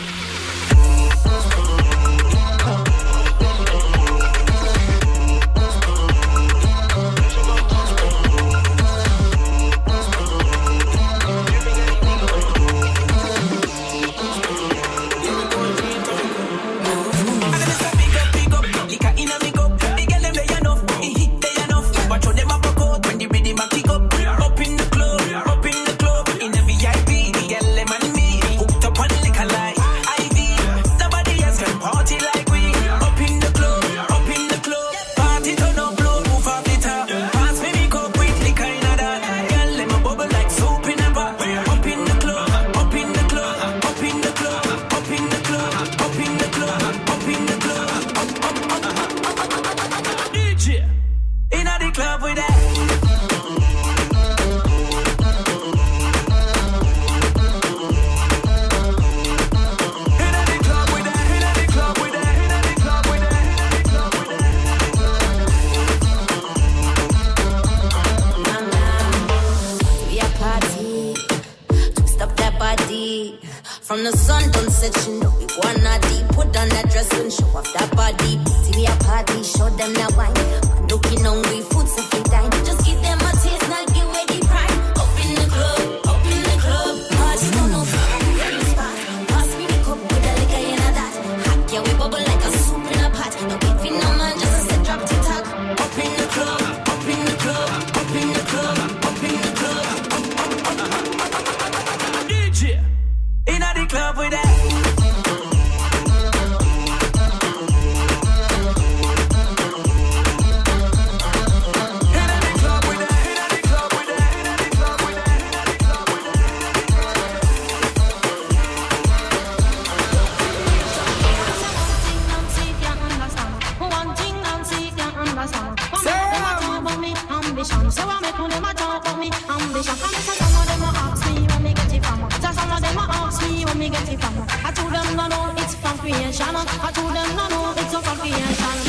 From the sun don't set, you know we wanna deep. Put on that dress and show off that body. See we a party, show them that wine. I'm looking hungry, food so free time. Just give them a taste, now give away the prime. Up in the club, up in the club. Party don't know in the spot. Pass me the cup with a liquor in a that. Hot yeah, we bubble like a soup in a pot. No wait for no man, just a set drop to talk. Up in the club, up in the club, up in the club, up in the club. Up, up, up, up, up, up. D J. Inna the club with that. So I make them a talk about me ambition. And so some of them a ask me where me get it from. So some of them a ask me where me get it from. I told them no no, it's from creation. I told them no no, it's from creation.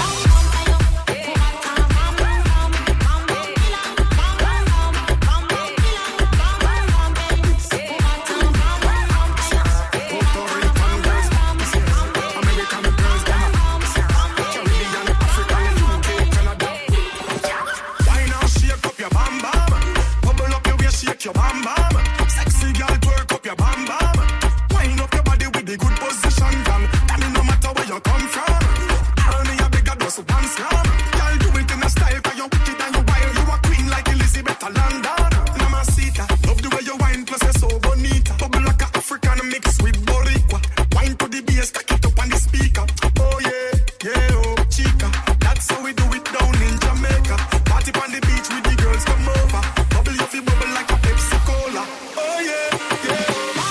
Your bam bam, sexy girl, twerk up your bam bam. Wind up your body with the good position, girl. Tell me no matter where you come from. Tell me a bigger dose of dance, girl. Girl, do it in a style, cause you're wicked and you're wild. You a queen like Elizabeth of London. Mamacita, love the way you wine, plus you're so bonita. Bubble like a African mix with Boricua. Wine to the bass, cock it up on the speaker. Oh yeah, yeah, oh chica. That's how we do it down in Jamaica. Party on the beach with the girls, come over. Bubble you feel bubble like a Pepsi-Cola. Oh yeah, yeah.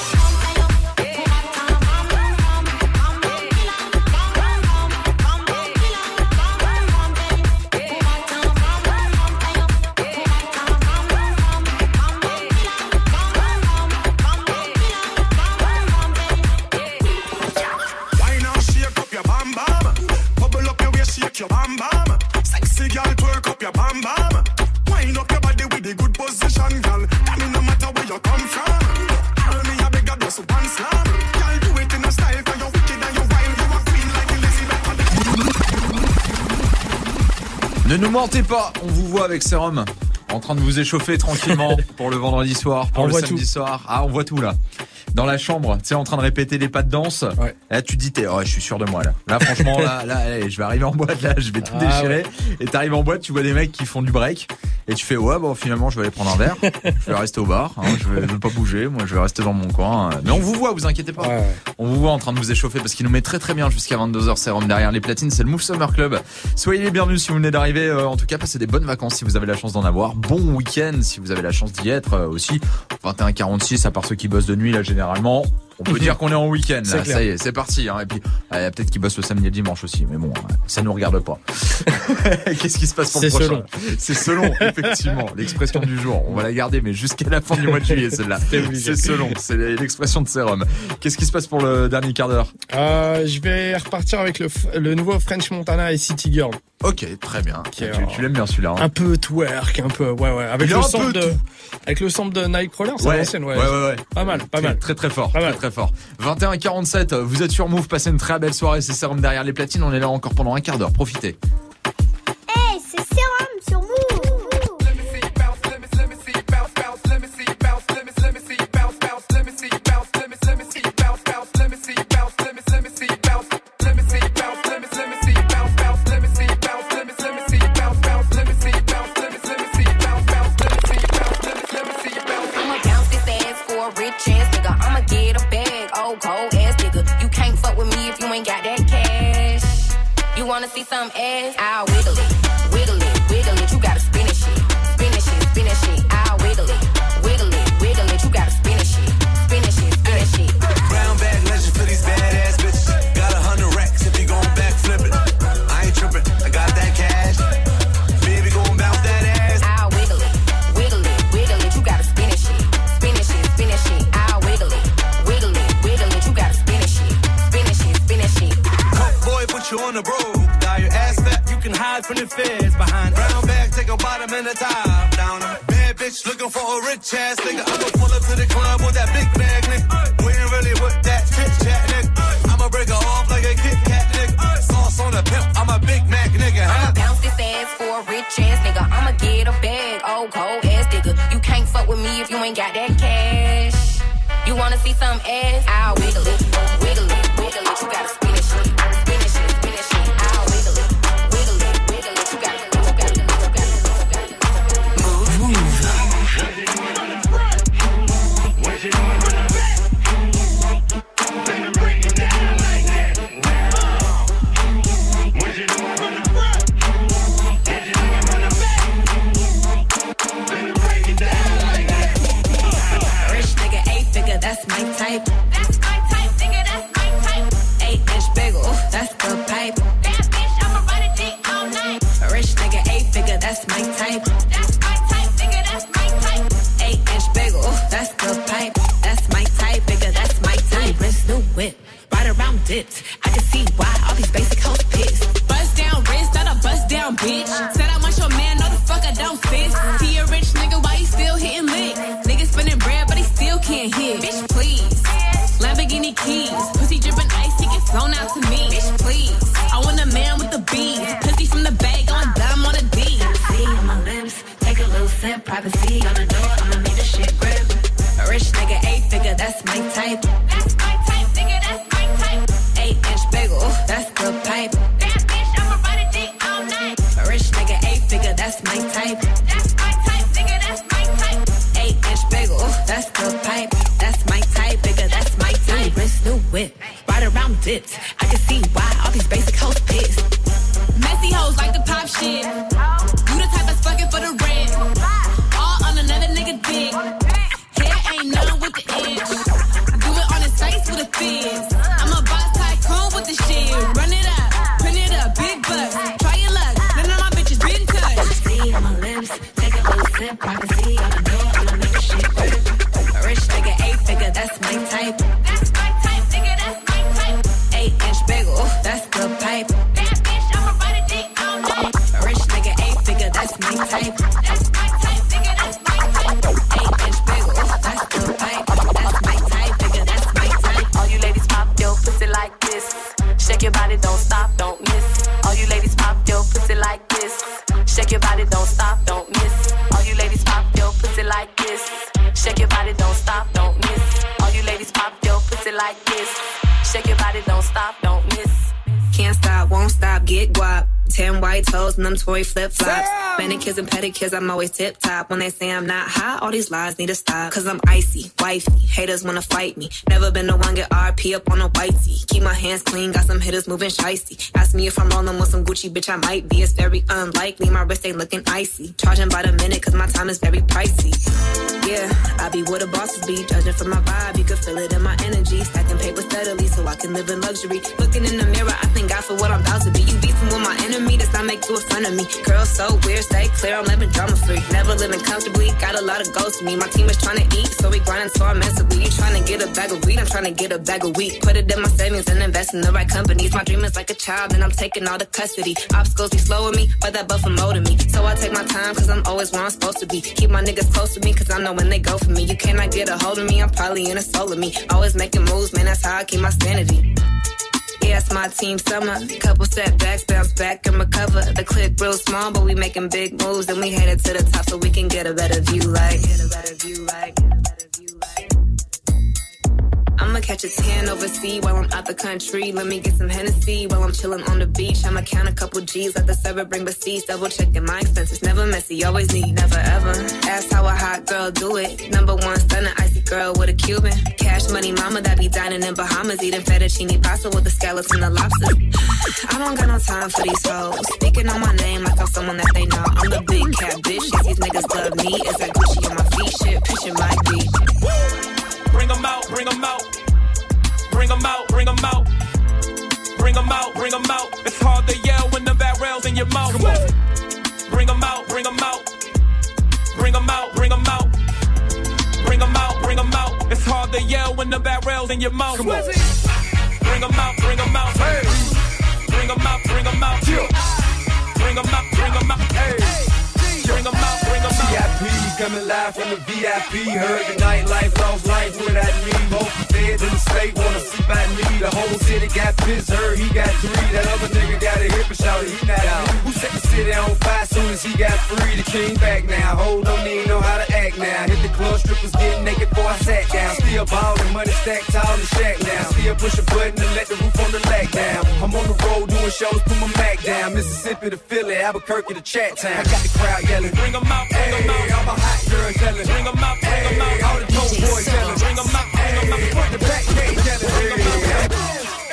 Why now shake up your bam bam? Bubble up your waist, shake your bam bam. Sexy girl, twerk up your bam bam. Wind up your body with the good position, girl. Tell me no matter where you come from. Tell me a bigger dose of one slam. Girl, do it in a style, cause you're wicked and you're wild. You a queen like Elizabeth. Ne nous mentez pas, on vous voit avec Sérum en train de vous échauffer tranquillement pour le vendredi soir, pour on le voit samedi tout. soir. Ah, on voit tout là. Dans la chambre, tu sais, en train de répéter les pas de danse. Ouais. Là, tu te dis, t'es, oh, je suis sûr de moi là. Là, franchement, là, là, allez, je vais arriver en boîte là, je vais tout Ah, déchirer. ouais. Et t'arrives en boîte, tu vois des mecs qui font du break. Et tu fais, ouais, bon, finalement, je vais aller prendre un verre. Je vais rester au bar. Hein, je vais, je vais pas bouger. Moi, je vais rester dans mon coin. Mais on vous voit, vous inquiétez pas. Ouais, ouais. On vous voit en train de vous échauffer parce qu'il nous met très très bien jusqu'à vingt-deux heures. Sérum derrière les platines, c'est le Move Summer Club. Soyez les bienvenus si vous venez d'arriver. Euh, en tout cas, passez des bonnes vacances si vous avez la chance d'en avoir. Bon week-end si vous avez la chance d'y être euh, aussi. vingt et un quarante-six, à part ceux qui bossent de nuit là généralement. On peut dire qu'on est en week-end, C'est là. clair. Ça y est, c'est parti. Hein. Et puis, il y a peut-être qu'ils bossent le samedi et le dimanche aussi. Mais bon, ça nous regarde pas. Qu'est-ce qui se passe pour C'est le prochain? selon. C'est selon, effectivement. L'expression du jour. On va la garder, mais jusqu'à la fin du mois de juillet, celle-là. C'est selon. C'est l'expression de Serum. Qu'est-ce qui se passe pour le dernier quart d'heure? Euh, je vais repartir avec le, f- le nouveau French Montana et City Girl. Ok, très bien. Qui est, tu tu l'aimes bien celui-là. Hein. Un peu twerk, un peu, ouais, ouais. Avec Il est le un sample peu de, avec le sample de Nightcrawler, c'est Ouais, l'ancienne, ouais. ouais, ouais, ouais. Pas mal, pas Très, mal. Très très fort, Pas très mal. très fort. vingt et un quarante-sept, vous êtes sur Move, passez une très belle soirée, c'est Serum derrière les platines, on est là encore pendant un quart d'heure, profitez. Hey, c'est Serum sur Move. I'ma bounce this ass for a rich ass nigga. I'ma get a bag, old cold ass nigga. You can't fuck with me if you ain't got that cash. You wanna see some ass? I'll wiggle it, wiggle it, wiggle it. You gotta spin it shit, spin it shit, spin it shit. I'll wiggle it, wiggle it, wiggle it. You gotta spin it shit, spin it shit, spin it shit. Brown bag legend for these badass bitches. Got a hundred racks if you gon' backflip it. I ain't trippin', I got that cash. Baby gon' bounce that ass. I'll wiggle it, wiggle it, wiggle it. You gotta spin it shit, spin it shit, spin it shit. I'll wiggle it, wiggle it, wiggle it. You gotta spin it shit, spin it shit, spin it shit. Coke boy, put you on the road. Now your ass fat, you can hide from the feds behind. Brown bag, take a bottom and a top down. Bad bitch looking for a rich ass nigga. I'ma pull up to the club with that big bag, nigga. We ain't really with that chit chat, nigga. I'ma break her off like a Kit Kat, nigga. Sauce on the pimp, I'm a Big Mac, nigga. I'ma Huh? bounce this ass for a rich ass nigga. I'ma get a bag, old cold ass nigga. You can't fuck with me if you ain't got that cash. You wanna see some ass? I'll wiggle it, wiggle it, wiggle it. You gotta spin it shit, spin it shit, spin it shit. I'll wiggle it, wiggle it, wiggle it. You gotta, you gotta, you gotta, you gotta. Move, move. Rich nigga, eight figure, that's my type. That's my type, nigga, that's my type. Eight inch bagel, that's the pipe. That bitch, I'ma ride a dick all night. Rich nigga, eight figure, that's my type. That's my type, nigga, that's my type. Eight inch bagel, that's the pipe. That's my type, nigga, that's my type. Wrist, new whip, right around dipped. I can see why all these basic hoes pissed. Bust down wrist, not a bust down bitch. Said I want your man, no the fuck I don't fit. See a rich nigga, why he still hitting licks? Nigga spinning bread, but he still can't hit. Bitch, please. Lamborghini keys, pussy dripping ice, he get flown out to me. Bitch, please. I want a man with the beans, pussy from the bag, going dumb on a D. See on my lips, take a little sip, privacy on the door, I'ma make the shit grip. A rich nigga, eight figure, that's my type. That's my type, nigga, that's my type. Eight inch bagel, that's the pipe. That bitch, I'ma ride a dick all night. A rich nigga, eight figure, that's my type. That's my type, nigga, that's my type. Eight inch bagel, that's the pipe. That's my type, nigga, that's my type. Wrist, new whip, right around dipped. I can see why all these basic hoes pissed. Messy hoes like to pop shit. You the type that's fucking for the rent. All on another nigga dick. Hair ain't none with the inch. Do it on his face with a fizz. I'm a boss tycoon with the shit. Run it up, print it up, big bucks. Try your luck, none of my bitches been touched. See on my lips, take a little sip. Privacy on the door, I'ma make the shit grip. A rich nigga, eight figure, that's my type. That's my type, nigga, that's my type. Eight inch bagel, that's the pipe. That bitch, I'ma ride a dick all night. A rich nigga, eight figure, that's my type. That's my type, nigga, that's my type. Eight inch bagel, that's the pipe. That's my type, nigga, that's my type. All you ladies pop your pussy like this. Shake your body, don't stop, don't miss. All you ladies pop your pussy like this. Shake your body, don't stop, don't miss. All you ladies pop your pussy like this. Shake your body, don't stop, don't miss. All you ladies pop your pussy like this. Shake your body, don't stop, don't miss. Can't stop, won't stop, get guap. Ten white toes and them Tory flip-flops. Manicures and pedicures, I'm always tip-top. When they say I'm not hot, all these lies need to stop. Cause I'm icy, wifey, haters wanna fight me. Never been the one get R P up on a whitey. Keep my hands clean, got some hitters moving shicey. Ask me if I'm rolling with some Gucci, bitch, I might be. It's very unlikely, my wrist ain't looking icy. Charging by the minute, cause my time is very pricey. Yeah, I be where the bosses be. Judging from my vibe, you can feel it in my energy. Stacking paper steadily so I can live in luxury. Looking in the mirror, I thank God for what I'm about to be. You beefing with my enemy, does not make you a friend of me. Girl, so weird, stay clear, I'm living drama free. Never living comfortably, got a lot of goals to me. My team is trying to eat, so we grinding so I'm mentally. You trying to get a bag of weed, I'm trying to get a bag of wheat. Put it in my savings and invest in the right companies. My dream is like a child and I'm taking all the custody. Obstacles be slowing me, but that buffer molding me. So I take my time cause I'm always where I'm supposed to be. Keep my niggas close to me cause I know when they go for me. You cannot get a hold of me, I'm probably in a soul of me. Always making moves, man, that's how I keep my sanity. Yeah, it's my team summer. Couple setbacks, bounce back and recover. The clip real small, but we making big moves. And we headed to the top so we can get a better view like. Get a better view like. I'ma catch a tan overseas while I'm out the country. Let me get some Hennessy while I'm chilling on the beach. I'ma count a couple G's, let the server bring receipts. Double checking my expenses, never messy, always need, never ever. Ask how a hot girl do it. Number one, stunning icy girl with a Cuban. Cash money mama that be dining in Bahamas. Eating fettuccine pasta with the scallops and the lobster. I don't got no time for these hoes. Speaking on my name like I'm someone that they know. I'm the big cat bitch, yes, these niggas love me. Is that Gucci on my feet? Shit, picture my beat. Bring them out, bring them out. Bring them out, bring them out. Bring them out, bring them out. It's hard to yell when the barrel's in your mouth. Bring them out, bring them out. Bring them out, bring them out. Bring them out, bring them out. It's hard to yell when the barrel's in your mouth. Bring them out, bring them out. Hey. Bring them out, bring them out. Bring them out, bring them out. Hey. Bring them out, bring them out. V I P coming live from the V I P. Heard the nightlife, lost life without me. Both feds in the state wanna see by me. The whole city got pissed, heard he got three. That other nigga got a hip and shouted he not out. Who set the city on fire soon as he got free? The king back now, hold on, he know how to act now. Hit the club, strippers getting naked before I sat down. Still ballin', money stacked tall in the shack now. Still push a button and let the roof on the lag down. I'm on the road doing shows, put my Mac down. Mississippi to Philly, Albuquerque to Chat Town. I got the crowd yelling, bring them out, bring them out. All my hot girls yelling, bring them out, bring them out. All the dope boys yelling, bring them out, bring them out. Front the back gate yelling, bring them out.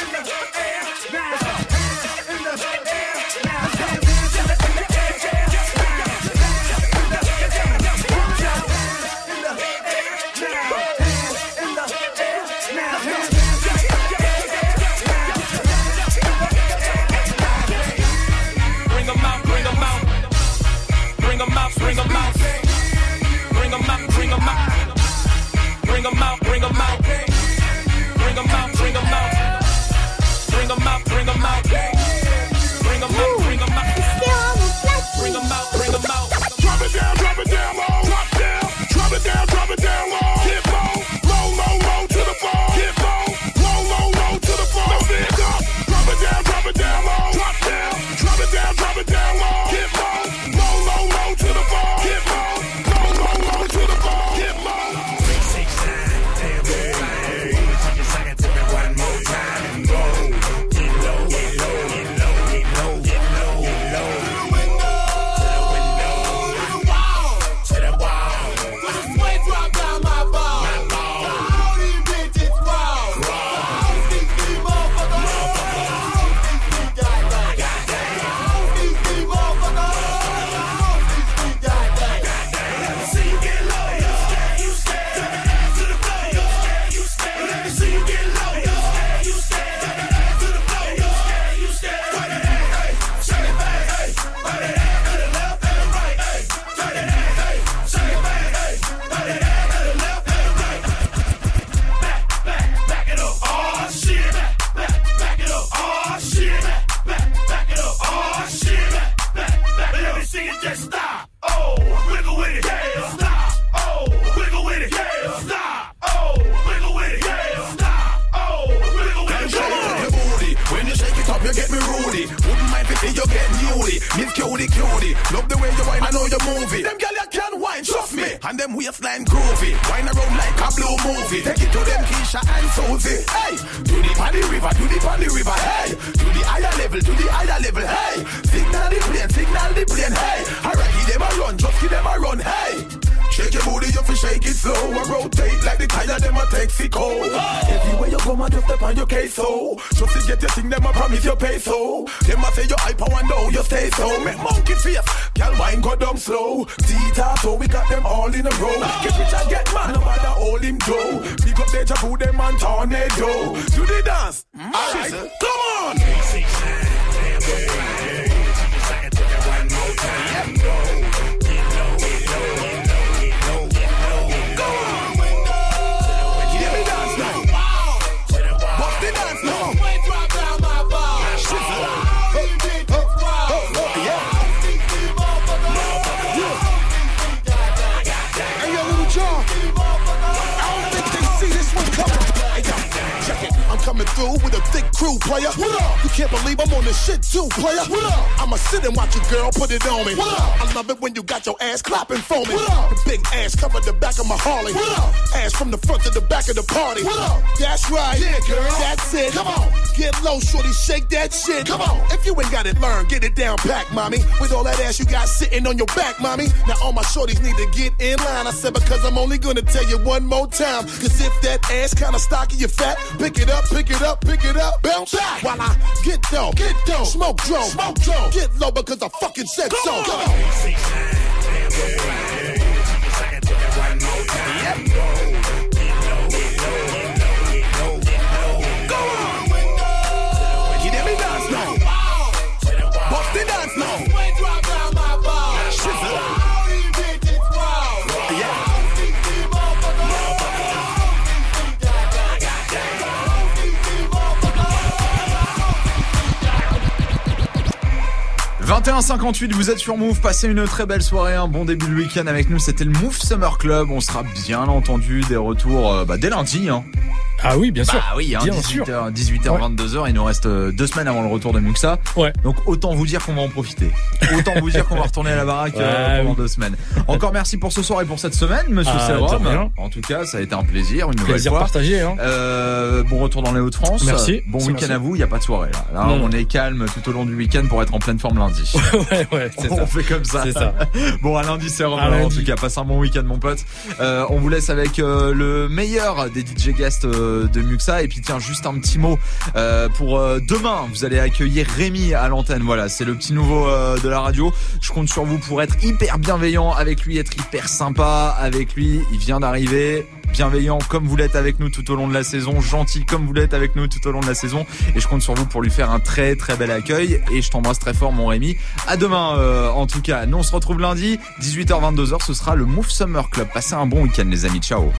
Bring them out, bring them out, bring them out, bring them out, bring them out, bring them out, bring them out, bring them out, bring them out, bring them out, bring them out, bring them out, bring them out. Drop it down, drop it down low, drop down, drop it down, drop it down low, get low, low, low, low to the floor, get low, low, low, low to the floor. Let's stand up, drop it down, drop it down low, drop down, drop it down, drop it down low, get low, low, low, low to the floor, get low, low, low, low to the floor, get low. Three six nine, damn, hey, hey, hey. up, you get me rudy. Wouldn't mind if you get newly. Miss cutie cutie. Love the way you whine, I know you move it. Them girl you can whine, trust me. And them waistline groovy. Whine around like a blue movie. Take it to them Keisha and Susie. Hey, to the paddy river, to the paddy river. Hey, to the higher level, to the higher level. Hey, signal the plane, signal the plane. Hey, alright, give them a run, just give them a run. Hey. Shake your booty, you fi shake it slow. I rotate like the tire, them a Texaco. Everywhere you go, man, just step on your case, so. Just to get your thing, them a promise you pay, so. Them a say you hyper and now you stay so. Make monkey face, girl wine go down slow. Tita, so we got them all in a row. Get rich and get man, no matter all him do. Pick up Deja Vu, them and Tornado. Do the dance, mm-hmm. Alright, come on. Coming through with a thick crew, player. What up? You can't believe I'm on this shit too, player. What up? I'ma sit and watch you, girl, put it on me. What up? I love it when you got your ass clapping for me. What up? The big ass covered the back of my Harley. What up? Ass from the front to the back of the party. What up? That's right. Yeah, girl. That's it. Come on. Get low, shorty, shake that shit. Come on. If you ain't got it learned, get it down pack, mommy. With all that ass you got sitting on your back, mommy. Now all my shorties need to get in line. I said because I'm only gonna tell you one more time. Cause if that ass kinda stocky, you fat, pick it up, pick it up, pick it up, bounce back. While I get down, get down, smoke drone, smoke drone. Get low because I fucking said so. Come on. vingt et un cinquante-huit, vous êtes sur Move, passez une très belle soirée, un bon début de week-end avec nous, c'était le Move Summer Club, on sera bien entendu des retours euh, bah, dès lundi. Hein. Ah oui, bien sûr. Bah oui, hein, bien dix-huit heures, dix-huit heures, vingt-deux heures, il nous reste deux semaines avant le retour de Muxa. Ouais. Donc autant vous dire qu'on va en profiter. Autant vous dire qu'on va retourner à la baraque ouais, euh, pendant oui. deux semaines. Encore merci pour ce soir et pour cette semaine, monsieur ah, Serum. En tout cas, ça a été un plaisir, une nouvelle plaisir fois. Partagé, hein. Euh, bon retour dans les Hauts-de-France. Merci. Bon week-end merci. À vous, il n'y a pas de soirée là. Là, non, on non. est calme tout au long du week-end pour être en pleine forme lundi. ouais, ouais, c'est on ça. On fait comme ça. C'est ça. Bon, à lundi, Serum. En tout cas, passe un bon week-end, mon pote. Euh, on vous laisse avec euh, le meilleur des D J guests euh, de Muxa. Et puis tiens, juste un petit mot euh, pour euh, demain, vous allez accueillir Rémi à l'antenne. Voilà, c'est le petit nouveau euh, de la radio. Je compte sur vous pour être hyper bienveillant avec lui, être hyper sympa avec lui. Il vient d'arriver. Bienveillant comme vous l'êtes avec nous tout au long de la saison, gentil comme vous l'êtes avec nous tout au long de la saison, et je compte sur vous pour lui faire un très très bel accueil, et je t'embrasse très fort mon Rémi. À demain euh, en tout cas. Nous on se retrouve lundi dix-huit heures vingt-deux heures, ce sera le Move Summer Club. Passez un bon week-end les amis, ciao.